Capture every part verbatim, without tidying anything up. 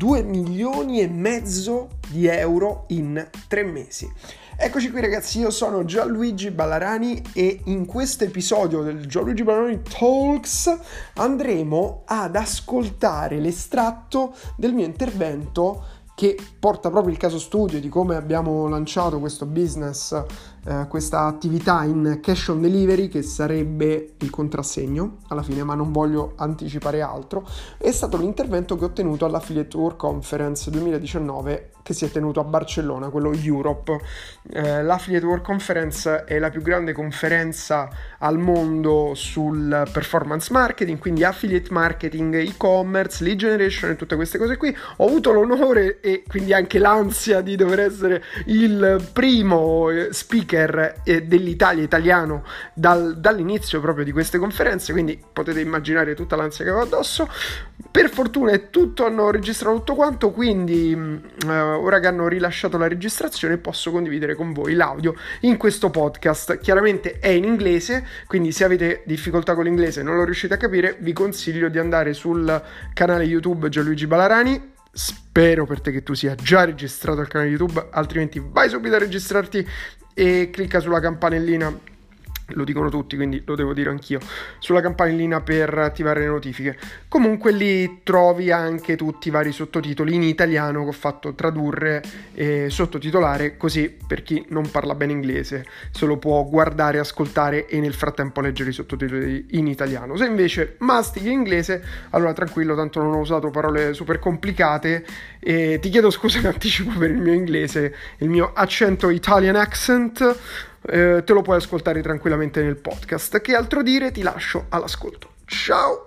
due milioni e mezzo di euro in tre mesi. Eccoci qui ragazzi, io sono Gianluigi Ballarani e in questo episodio del Gianluigi Ballarani Talks andremo ad ascoltare l'estratto del mio intervento che porta proprio il caso studio di come abbiamo lanciato questo business, eh, questa attività in cash on delivery, che sarebbe il contrassegno alla fine, ma non voglio anticipare altro. È stato l'intervento che ho tenuto all'Affiliate World Conference duemiladiciannove che si è tenuto a Barcellona, quello Europe. Eh, L'Affiliate World Conference è la più grande conferenza al mondo sul performance marketing, quindi affiliate marketing, e-commerce, lead generation e tutte queste cose qui. Ho avuto l'onore e quindi anche l'ansia di dover essere il primo speaker dell'Italia italiano dal, dall'inizio proprio di queste conferenze, quindi potete immaginare tutta l'ansia che avevo addosso. Per fortuna è tutto, hanno registrato tutto quanto, quindi uh, ora che hanno rilasciato la registrazione posso condividere con voi l'audio in questo podcast. Chiaramente è in inglese, quindi se avete difficoltà con l'inglese e non lo riuscite a capire, vi consiglio di andare sul canale YouTube Gianluigi Ballarani. Spero per te che tu sia già registrato al canale YouTube, altrimenti vai subito a registrarti e clicca sulla campanellina. Lo dicono tutti, quindi lo devo dire anch'io, sulla campanellina per attivare le notifiche. Comunque lì trovi anche tutti i vari sottotitoli in italiano che ho fatto tradurre e sottotitolare, così per chi non parla bene inglese se lo può guardare, ascoltare e nel frattempo leggere i sottotitoli in italiano. Se invece mastichi inglese, allora tranquillo, tanto non ho usato parole super complicate e ti chiedo scusa in anticipo per il mio inglese, il mio accento Italian accent. Eh, te lo puoi ascoltare tranquillamente nel podcast. Che altro dire? Ti lascio all'ascolto. Ciao!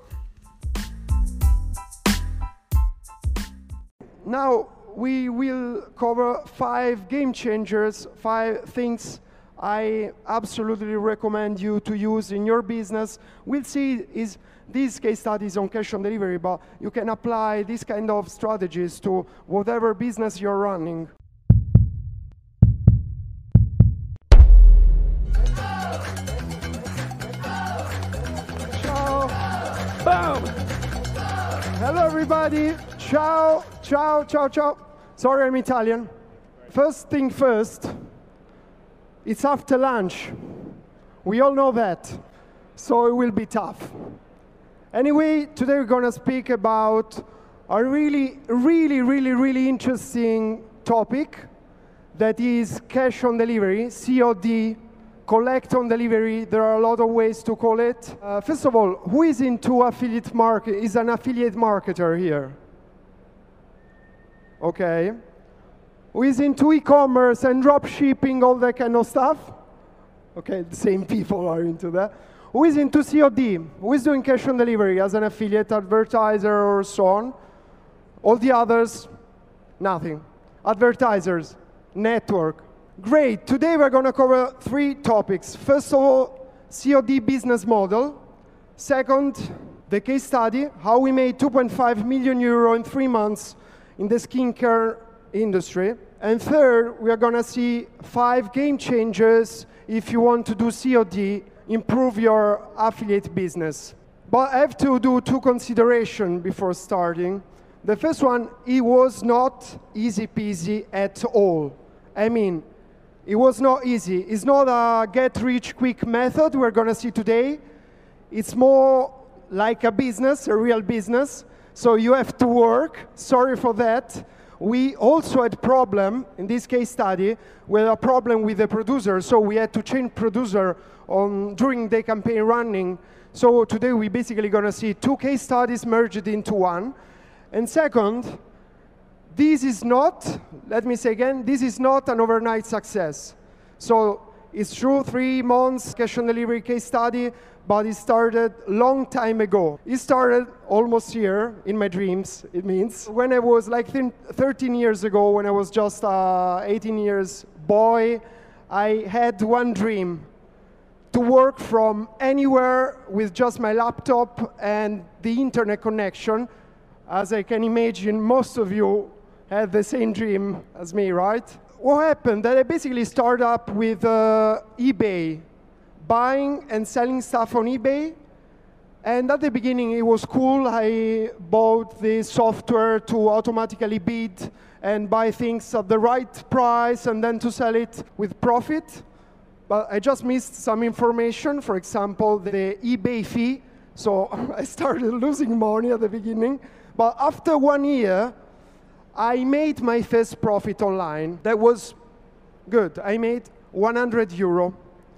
Now we will cover five game changers, five things I absolutely recommend you to use in your business. We'll see is these case studies on cash on delivery, but you can apply these kind of strategies to whatever business you're running. Boom! Hello everybody, ciao, ciao, ciao, ciao. Sorry, I'm Italian. First thing first, it's after lunch. We all know that, so it will be tough. Anyway, today we're gonna speak about a really, really, really, really interesting topic that is cash on delivery, C O D, collect on delivery. There are a lot of ways to call it. Uh, first of all, who is into affiliate market? Is an affiliate marketer here? Okay. Who is into e-commerce and drop shipping, all that kind of stuff? Okay, the same people are into that. Who is into C O D? Who is doing cash on delivery as an affiliate advertiser or so on? All the others, nothing. Advertisers, network. Great, today we're going to cover three topics. First of all, C O D business model. Second, the case study, how we made two point five million euro in three months in the skincare industry. And third, we are going to see five game changers if you want to do C O D, improve your affiliate business. But I have to do two considerations before starting. The first one, it was not easy peasy at all. I mean, it was not easy. It's not a get-rich-quick method we're going to see today. It's more like a business, a real business. So you have to work. Sorry for that. We also had problem, in this case study, with a problem with the producer. So we had to change producer on, during the campaign running. So today we're basically going to see two case studies merged into one. And second, this is not, let me say again, this is not an overnight success. So it's true, three months cash on delivery case study, but it started long time ago. It started almost here in my dreams, it means. When I was like thirteen years ago, when I was just uh, eighteen years boy, I had one dream, to work from anywhere with just my laptop and the internet connection. As I can imagine, most of you had the same dream as me, right? What happened? That I basically started up with uh, eBay, buying and selling stuff on eBay, And at the beginning, it was cool. I bought this software to automatically bid and buy things at the right price and then to sell it with profit. But I just missed some information, for example, the eBay fee. So I started losing money at the beginning. But after one year, I made my first profit online. That was good. I made one hundred euro.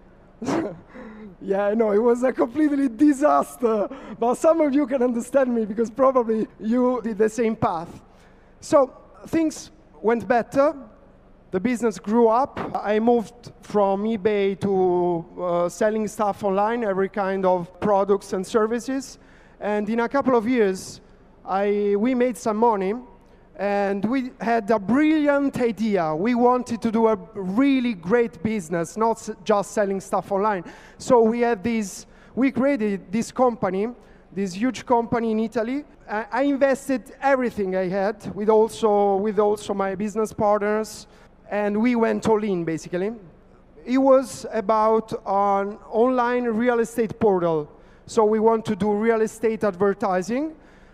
Yeah, I know, it was a completely disaster. But some of you can understand me because probably you did the same path. So things went better. The business grew up. I moved from eBay to uh, selling stuff online, every kind of products and services. And in a couple of years, I, we made some money. And we had a brilliant idea. We wanted to do a really great business, not just selling stuff online. So we had this, we created this company, this huge company in Italy. I invested everything I had with also, with also my business partners, and we went all in, basically. It was about an online real estate portal. So we want to do real estate advertising.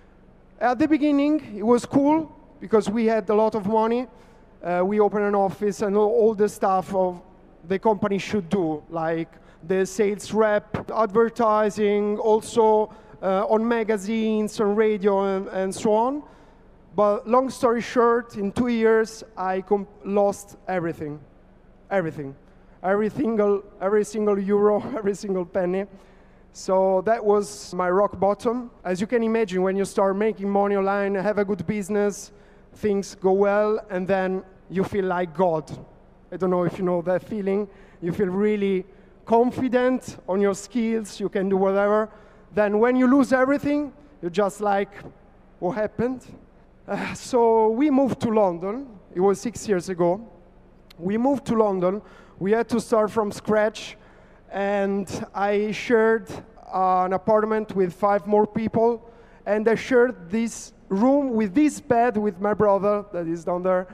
At the beginning, it was cool, because we had a lot of money. Uh, we opened an office and all, all the stuff of the company should do, like the sales rep, advertising, also uh, on magazines, on radio, and, and so on. But long story short, in two years, I lost everything, everything. Every single, every single euro, every single penny. So that was my rock bottom. As you can imagine, when you start making money online, have a good business, things go well, and then you feel like God. I don't know if you know that feeling. You feel really confident on your skills, you can do whatever. Then when you lose everything, you're just like, what happened? Uh, so we moved to London. It was six years ago. We moved to London. We had to start from scratch, and I shared uh, an apartment with five more people, and I shared this room with this bed with my brother that is down there.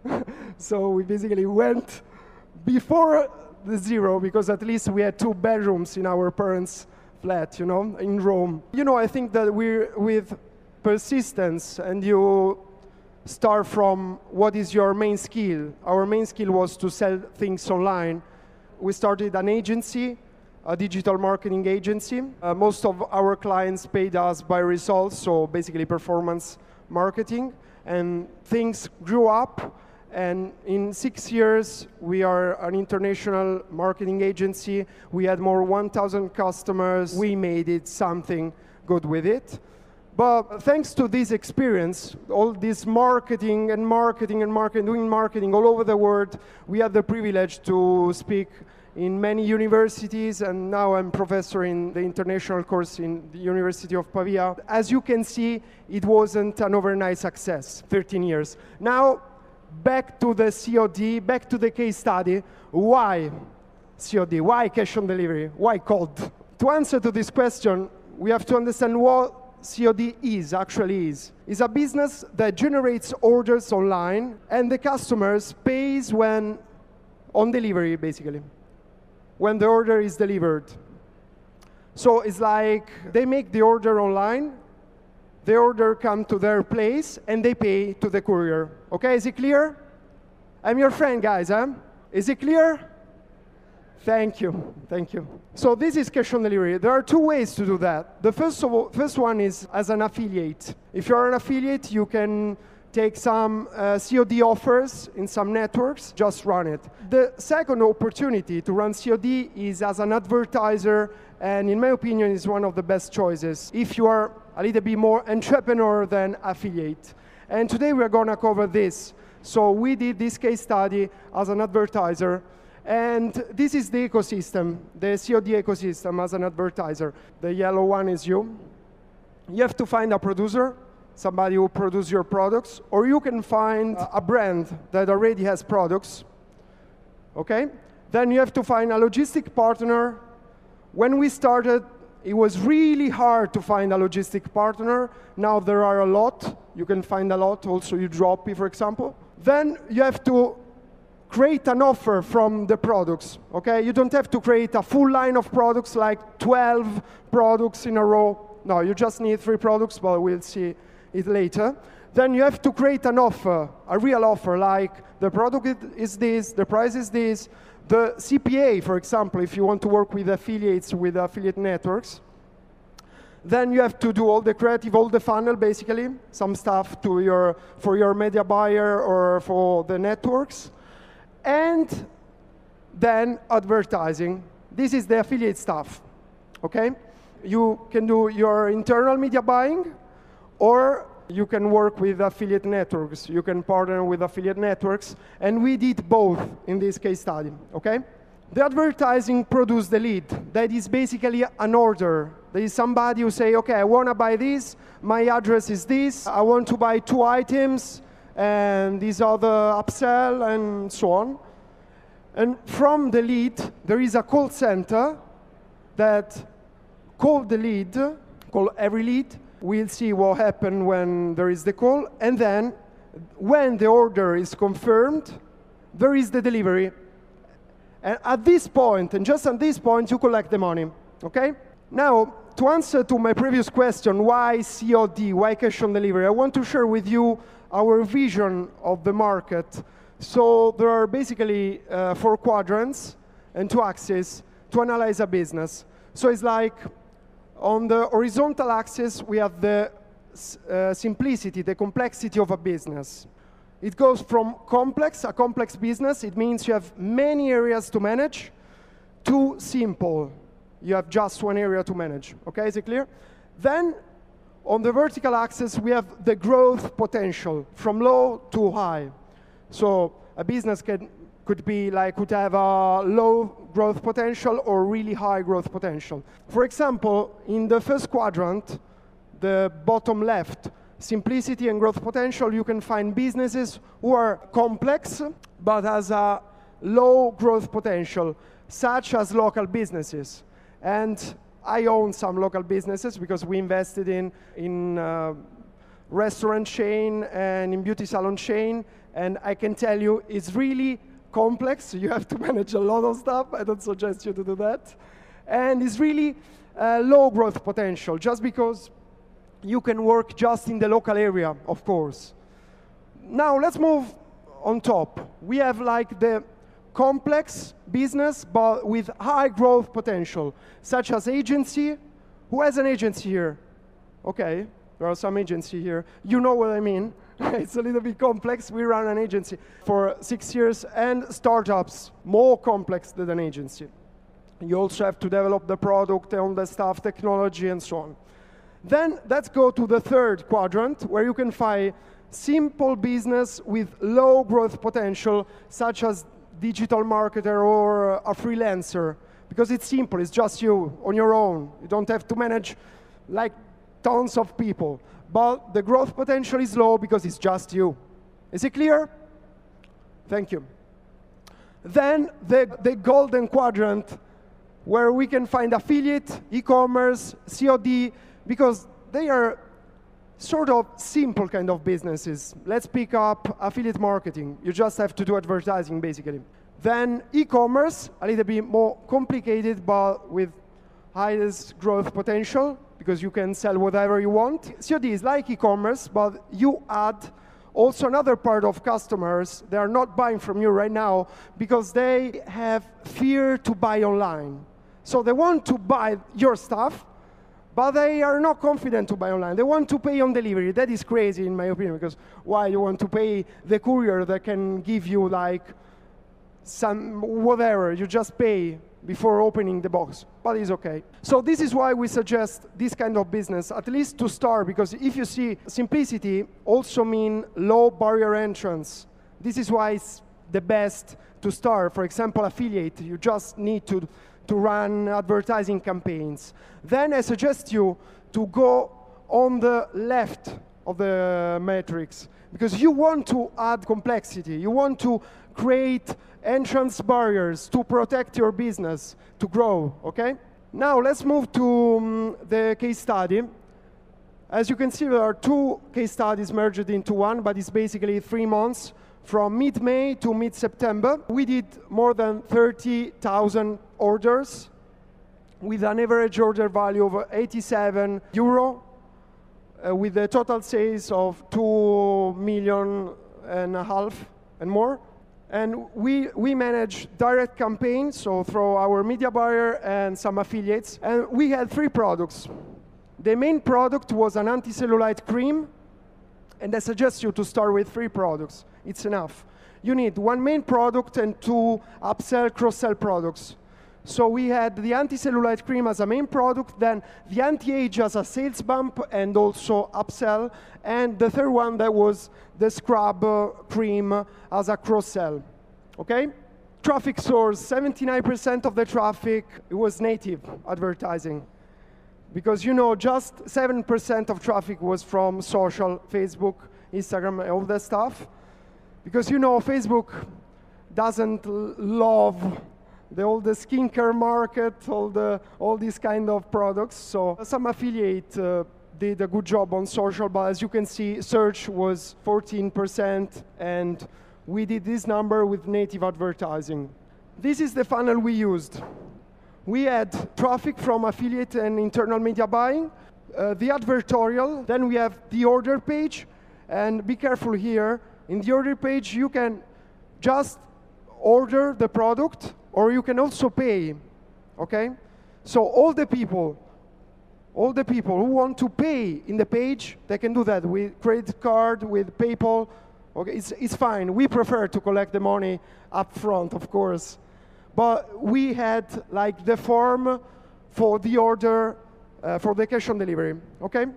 So we basically went before the zero, because at least we had two bedrooms in our parents' flat, you know, in Rome. You know, I think that we're with persistence, and you start from what is your main skill. Our main skill was to sell things online. We started an agency, a digital marketing agency. Uh, most of our clients paid us by results, so basically performance marketing. And things grew up, and in six years, we are an international marketing agency. We had more one thousand customers. We made it something good with it. But thanks to this experience, all this marketing and marketing and marketing, doing marketing all over the world, we had the privilege to speak in many universities, and now I'm professor in the international course in the University of Pavia. As you can see, it wasn't an overnight success, thirteen years. Now, back to the C O D, back to the case study. Why C O D? Why cash on delivery? Why cold? To answer to this question, we have to understand what C O D is, actually is. It's a business that generates orders online, and the customers pays when on delivery, basically, when the order is delivered. So it's like they make the order online, the order comes to their place, and they pay to the courier. Okay, is it clear? I'm your friend, guys, huh? Is it clear? Thank you, thank you. So this is cash on delivery. There are two ways to do that. The first, of all, first one is as an affiliate. If you're an affiliate, you can take some uh, C O D offers in some networks, just run it. The second opportunity to run C O D is as an advertiser, and in my opinion, is one of the best choices if you are a little bit more entrepreneur than affiliate. And today we're gonna cover this. So we did this case study as an advertiser, and this is the ecosystem, the C O D ecosystem as an advertiser. The yellow one is you. You have to find a producer, somebody who produces your products, or you can find a brand that already has products, okay? Then you have to find a logistic partner. When we started, it was really hard to find a logistic partner. Now there are a lot. You can find a lot, also Udroppy, for example. Then you have to create an offer from the products, okay? You don't have to create a full line of products, like twelve products in a row. No, you just need three products, but we'll see it later. Then you have to create an offer, a real offer, like the product is this, the price is this, the C P A, for example, if you want to work with affiliates, with affiliate networks. Then you have to do all the creative, all the funnel, basically, some stuff to your, for your media buyer or for the networks. And then advertising. This is the affiliate stuff, okay? You can do your internal media buying, or you can work with affiliate networks. You can partner with affiliate networks, and we did both in this case study, okay? The advertising produced the lead. That is basically an order. There is somebody who say, okay, I want to buy this, my address is this, I want to buy two items, and these are the upsell, and so on. And from the lead, there is a call center that call the lead, call every lead. We'll see what happened when there is the call. And then, when the order is confirmed, there is the delivery. And at this point, and just at this point, you collect the money, okay? Now, to answer to my previous question, why C O D, why cash on delivery, I want to share with you our vision of the market. So there are basically uh, four quadrants and two axes to analyze a business. So it's like, on the horizontal axis, we have the uh, simplicity, the complexity of a business. It goes from complex, a complex business, it means you have many areas to manage, to simple. You have just one area to manage, okay, is it clear? Then, on the vertical axis, we have the growth potential, from low to high. So, a business can, could be like, could have a low growth potential or really high growth potential. For example, in the first quadrant, the bottom left, simplicity and growth potential, you can find businesses who are complex, but has a low growth potential, such as local businesses. And I own some local businesses because we invested in, in uh, restaurant chain and in beauty salon chain, and I can tell you it's really complex. You have to manage a lot of stuff. I don't suggest you to do that. And it's really uh, low growth potential, just because you can work just in the local area, of course. Now let's move on top. We have like the complex business, but with high growth potential, such as agency. Who has an agency here? Okay, there are some agency here. You know what I mean. It's a little bit complex. We run an agency for six years, and startups, more complex than an agency. You also have to develop the product and the staff, technology, and so on. Then let's go to the third quadrant, where you can find simple business with low growth potential, such as digital marketer or a freelancer, because it's simple, it's just you on your own. You don't have to manage like tons of people. But the growth potential is low because it's just you. Is it clear? Thank you. Then the, the golden quadrant, where we can find affiliate, e-commerce, C O D, because they are sort of simple kind of businesses. Let's pick up affiliate marketing. You just have to do advertising, basically. Then e-commerce, a little bit more complicated, but with highest growth potential, because you can sell whatever you want. C O D is like e-commerce, but you add also another part of customers. They are not buying from you right now because they have fear to buy online. So they want to buy your stuff, but they are not confident to buy online. They want to pay on delivery. That is crazy, in my opinion, because why you want to pay the courier that can give you like some whatever, you just pay before opening the box, but it's okay. So this is why we suggest this kind of business, at least to start, because if you see, simplicity also mean low barrier entrance. This is why it's the best to start. For example, affiliate, you just need to, to run advertising campaigns. Then I suggest you to go on the left of the matrix, because you want to add complexity. You want to create entrance barriers to protect your business, to grow, okay? Now let's move to um, the case study. As you can see, there are two case studies merged into one, but it's basically three months from mid-May to mid-September. We did more than thirty thousand orders. with an average order value of eighty-seven euro, uh, with a total sales of two million and a half and more. And we, we manage direct campaigns, so through our media buyer and some affiliates. And we had three products. The main product was an anti-cellulite cream, and I suggest you to start with three products. It's enough. You need one main product and two upsell, cross-sell products. So we had the anti-cellulite cream as a main product, then the anti-age as a sales bump and also upsell, and the third one that was the scrub uh, cream as a cross-sell, okay? Traffic source, seventy-nine percent of the traffic, it was native advertising. Because you know, just seven percent of traffic was from social, Facebook, Instagram, all that stuff. Because you know, Facebook doesn't love the, all the skincare market, all, the, all these kind of products. So some affiliate uh, did a good job on social, but as you can see, search was fourteen percent, and we did this number with native advertising. This is the funnel we used. We had traffic from affiliate and internal media buying, uh, the advertorial, then we have the order page, and be careful here, in the order page you can just order the product, or you can also pay, okay? So all the people, all the people who want to pay in the page, they can do that with credit card, with PayPal, okay, it's, it's fine. We prefer to collect the money up front, of course. But we had like the form for the order, uh, for the cash on delivery, okay?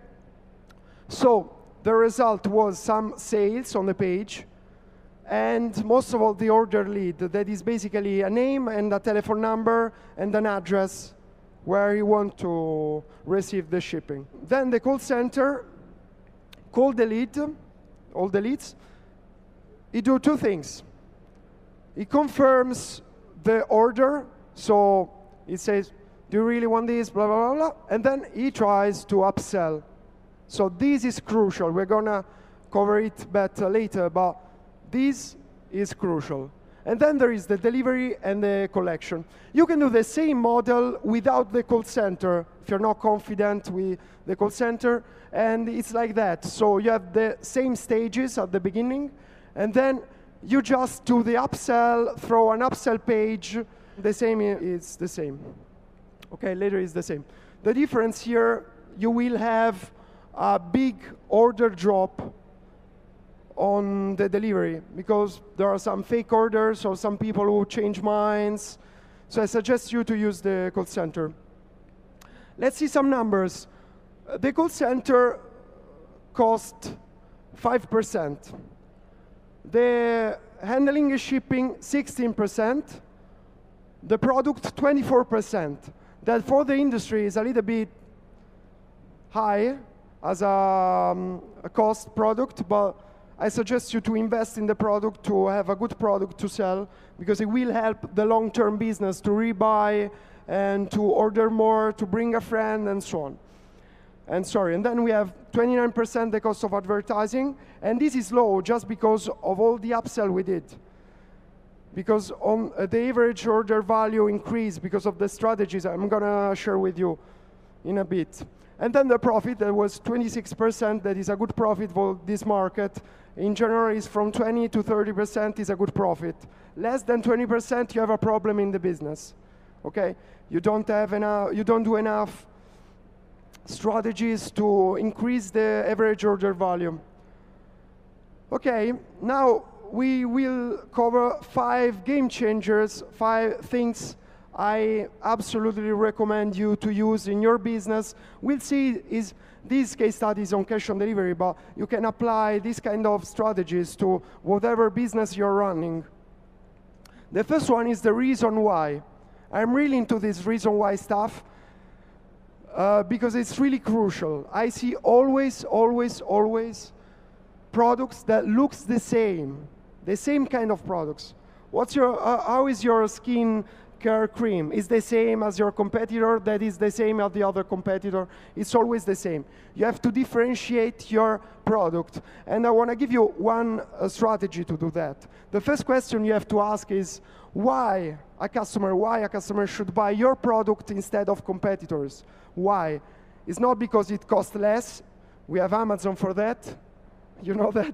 So the result was some sales on the page, and most of all the order lead, that is basically a name and a telephone number and an address where you want to receive the shipping. Then the call center called the lead, all the leads. It do two things. It confirms the order, so it says, do you really want this, blah, blah, blah, blah, and then he tries to upsell. So this is crucial. We're gonna cover it better later, but this is crucial. And then there is the delivery and the collection. You can do the same model without the call center if you're not confident with the call center, and it's like that. So you have the same stages at the beginning, and then you just do the upsell, throw an upsell page. The same is the same. Okay, later is the same. The difference here, you will have a big order drop on the delivery because there are some fake orders or some people who change minds. So I suggest you to use the call center. Let's see some numbers. The call center cost five percent. The handling and shipping, sixteen percent. The product, twenty-four percent. That for the industry is a little bit high as a, um, a cost product, but I suggest you to invest in the product to have a good product to sell, because it will help the long-term business to rebuy and to order more, to bring a friend, and so on. And sorry, and then we have twenty-nine percent the cost of advertising, and this is low just because of all the upsell we did. Because on uh, the average order value increased because of the strategies I'm gonna share with you in a bit. And then the profit, that was twenty-six percent, that is a good profit for this market. In general, is from twenty to thirty percent is a good profit. Less than twenty percent, you have a problem in the business, okay? You don't have enough, you don't do enough strategies to increase the average order value. Okay, now we will cover five game changers, five things I absolutely recommend you to use in your business. We'll see is these case studies on cash on delivery, but you can apply these kind of strategies to whatever business you're running. The first one is the reason why. I'm really into this reason why stuff uh, because it's really crucial. I see always, always, always products that looks the same, the same kind of products. What's your, uh, how is your skin care cream is the same as your competitor, that is the same as the other competitor. It's always the same. You have to differentiate your product. And I want to give you one uh, strategy to do that. The first question you have to ask is, why a customer, why a customer should buy your product instead of competitors? Why? It's not because it costs less. We have Amazon for that. You know that?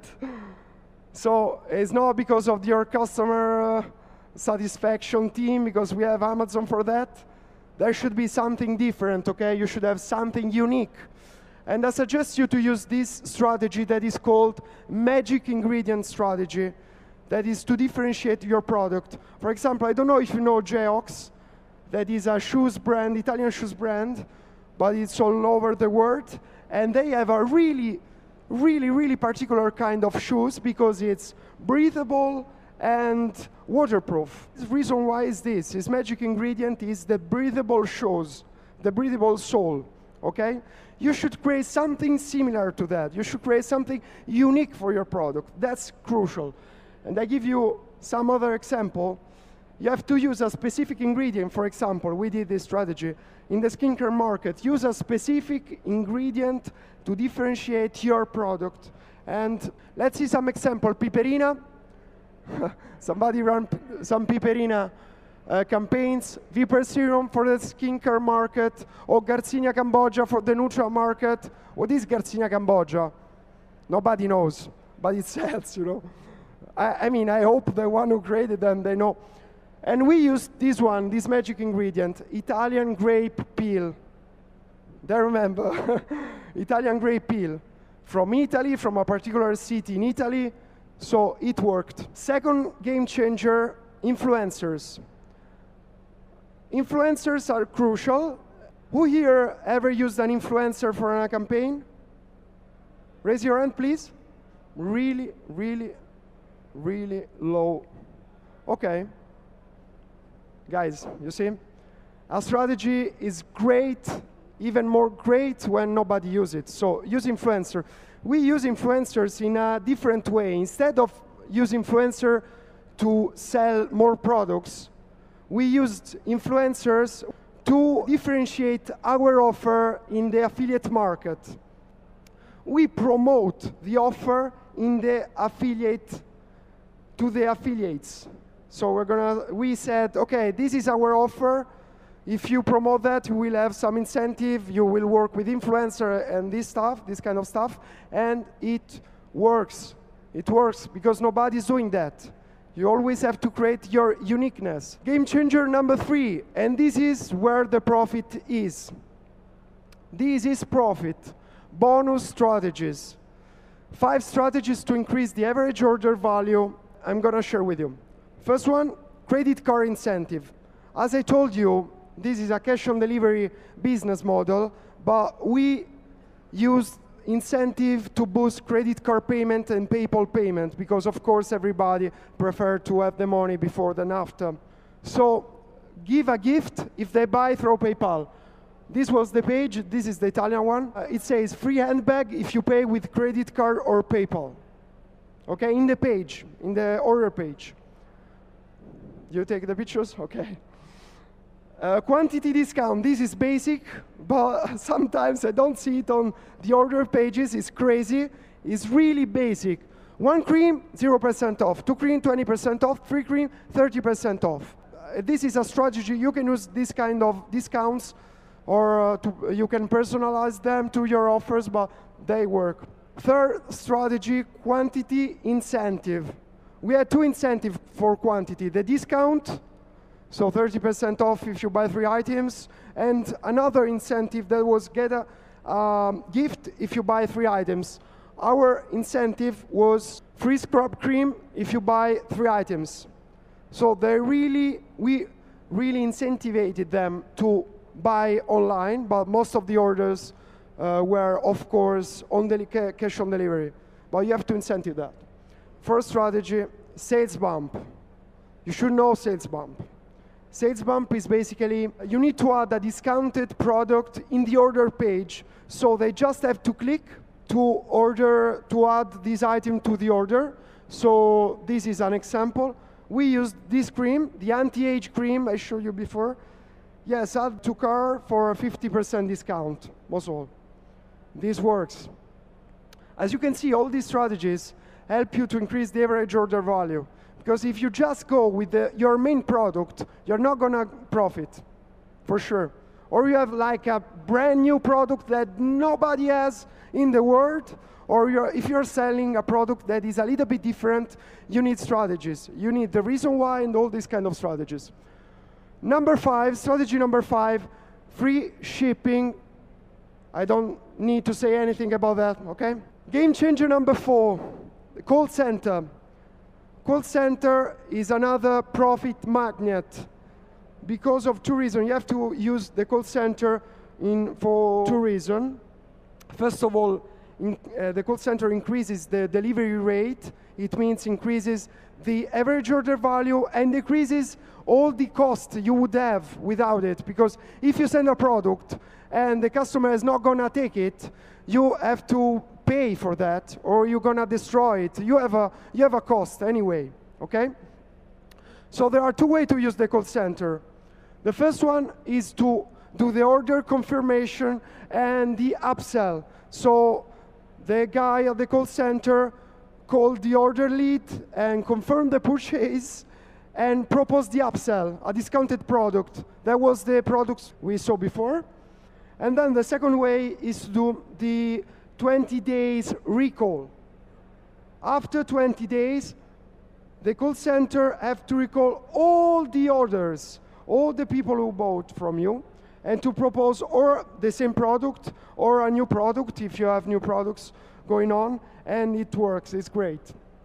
So it's not because of your customer uh, satisfaction team, because we have Amazon for that. There should be something different, okay? You should have something unique. And I suggest you to use this strategy that is called magic ingredient strategy, that is to differentiate your product. For example, I don't know if you know Geox, that is a shoes brand, Italian shoes brand, but it's all over the world. And they have a really, really, really particular kind of shoes because it's breathable and waterproof. The reason why is this, his magic ingredient is the breathable shoes, the breathable sole, okay? You should create something similar to that. You should create something unique for your product. That's crucial. And I give you some other example. You have to use a specific ingredient. For example, we did this strategy. In the skincare market, use a specific ingredient to differentiate your product. And let's see some example. Piperina. Somebody run some Piperina uh, campaigns. Viper Serum for the skincare market, or Garcinia Cambogia for the neutral market. What is Garcinia Cambogia? Nobody knows, but it sells, you know. I, I mean, I hope the one who created them, they know. And we used this one, this magic ingredient, Italian grape peel. They remember, Italian grape peel. From Italy, from a particular city in Italy, so it worked. Second game changer, influencers. Influencers are crucial. Who here ever used an influencer for a campaign? Raise your hand, please. Really, really, really low. Okay. Guys, you see? Our strategy is great, even more great when nobody uses it. So use influencer. We use influencers in a different way. Instead of using influencer to sell more products, we used influencers to differentiate our offer in the affiliate market. We promote the offer in the affiliate to the affiliates. So we're gonna, we said, okay, this is our offer. If you promote that, you will have some incentive. You will work with influencer and this stuff, this kind of stuff. And it works. It works because nobody's doing that. You always have to create your uniqueness. Game changer number three, and this is where the profit is. This is profit. Bonus strategies. Five strategies to increase the average order value I'm gonna share with you. First one, credit card incentive. As I told you, this is a cash on delivery business model, but we use incentive to boost credit card payment and PayPal payment because of course everybody prefers to have the money before than after. So give a gift if they buy through PayPal. This was the page, this is the Italian one. Uh, it says free handbag if you pay with credit card or PayPal. Okay, in the page, in the order page. You take the pictures? Okay. Uh, quantity discount, this is basic, but sometimes I don't see it on the order pages. It's crazy. It's really basic. One cream, zero percent off. Two cream, twenty percent off. Three cream, thirty percent off. Uh, this is a strategy. You can use this kind of discounts, or uh, to, you can personalize them to your offers, but they work. Third strategy, quantity incentive. We had two incentives for quantity. The discount, so thirty percent off if you buy three items, and another incentive that was get a um, gift if you buy three items. Our incentive was free scrub cream if you buy three items. So they really, we really incentivized them to buy online, but most of the orders uh, were, of course, on the cash on delivery. But you have to incentive that. First strategy, sales bump. You should know sales bump. Sales bump is basically, you need to add a discounted product in the order page, so they just have to click to order, to add this item to the order. So this is an example. we used this cream, the anti-age cream I showed you before. Yes, add to car for a fifty percent discount, was all. This works. As you can see, all these strategies help you to increase the average order value. Because if you just go with the, your main product, you're not gonna profit, for sure. Or you have like a brand new product that nobody has in the world, or you're, if you're selling a product that is a little bit different, you need strategies. You need the reason why and all these kind of strategies. Number five, strategy number five, free shipping. I don't need to say anything about that, okay? Game changer number four, the call center. Call center is another profit magnet because of two reasons. You have to use the call center in, for two reasons. First of all, in, uh, the call center increases the delivery rate. It means increases the average order value and decreases all the cost you would have without it. Because if you send a product and the customer is not gonna take it, you have to pay for that, or you're gonna destroy it. You have a you have a cost anyway. Okay. So there are two ways to use the call center. The first one is to do the order confirmation and the upsell. So the guy at the call center called the order lead and confirmed the purchase and proposed the upsell, a discounted product. That was the products we saw before. And then the second way is to do the twenty days recall. After twenty days, the call center have to recall all the orders, all the people who bought from you, and to propose or the same product or a new product if you have new products going on, and it works, it's great.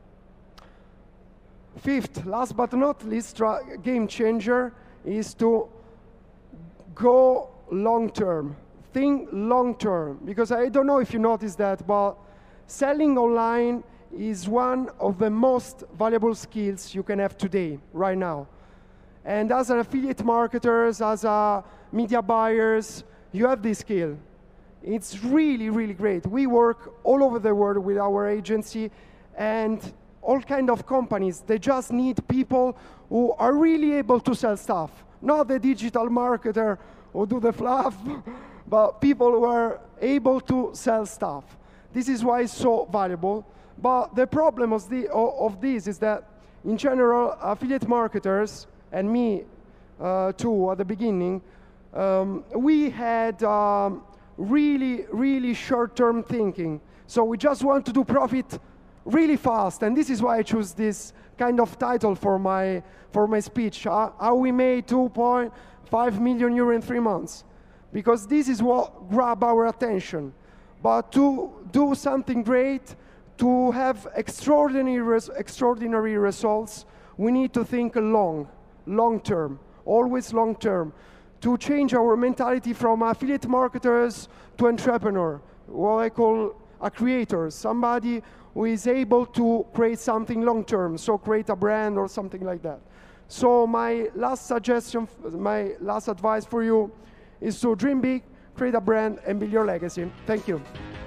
Fifth, last but not least, game changer is to go long term. Think long term, because I don't know if you noticed that, but selling online is one of the most valuable skills you can have today, right now. And as an affiliate marketers, as a media buyers, you have this skill. It's really, really great. We work all over the world with our agency, and all kind of companies, they just need people who are really able to sell stuff. Not the digital marketer who do the fluff, but people who are able to sell stuff. This is why it's so valuable. But the problem of, the, of this is that, in general, affiliate marketers, and me uh, too at the beginning, um, we had um, really, really short-term thinking. So we just want to do profit really fast, and this is why I choose this kind of title for my, for my speech, uh, how we made two point five million euro in three months. Because this is what grab our attention. But to do something great, to have extraordinary, res extraordinary results, we need to think long, long term, always long term, to change our mentality from affiliate marketers to entrepreneur, what I call a creator, somebody who is able to create something long term, so create a brand or something like that. So my last suggestion, my last advice for you is to dream big, create a brand, and build your legacy. Thank you.